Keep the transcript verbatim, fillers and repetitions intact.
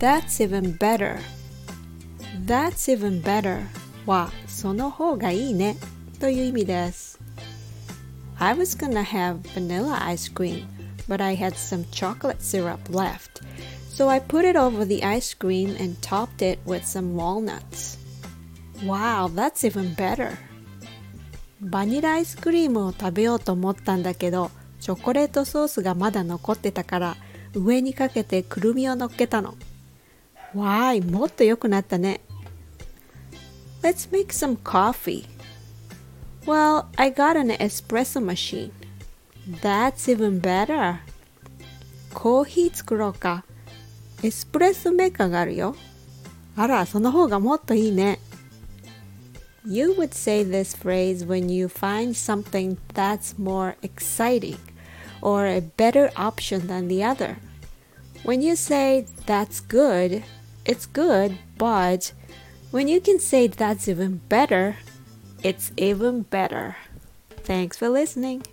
That's even better. That's even better はその方がいいねという意味です。I was gonna have vanilla ice cream, but I had some chocolate syrup left, so I put it over the ice cream and topped it with some walnuts. Wow, that's even better. バニラアイスクリームを食べようと思ったんだけど、チョコレートソースがまだ残ってたから上にかけてくるみを乗っけたの。わーい、もっと良くなったね。Let's make some coffee. Well, I got an espresso machine. That's even better. コーヒー作ろうか。エスプレッソメーカーがあるよ。あら、その方がもっといいね。You would say this phrase when you find something that's more exciting or a better option than the other. When you say that's good, it's good, but when you can say that's even better, it's even better. Thanks for listening.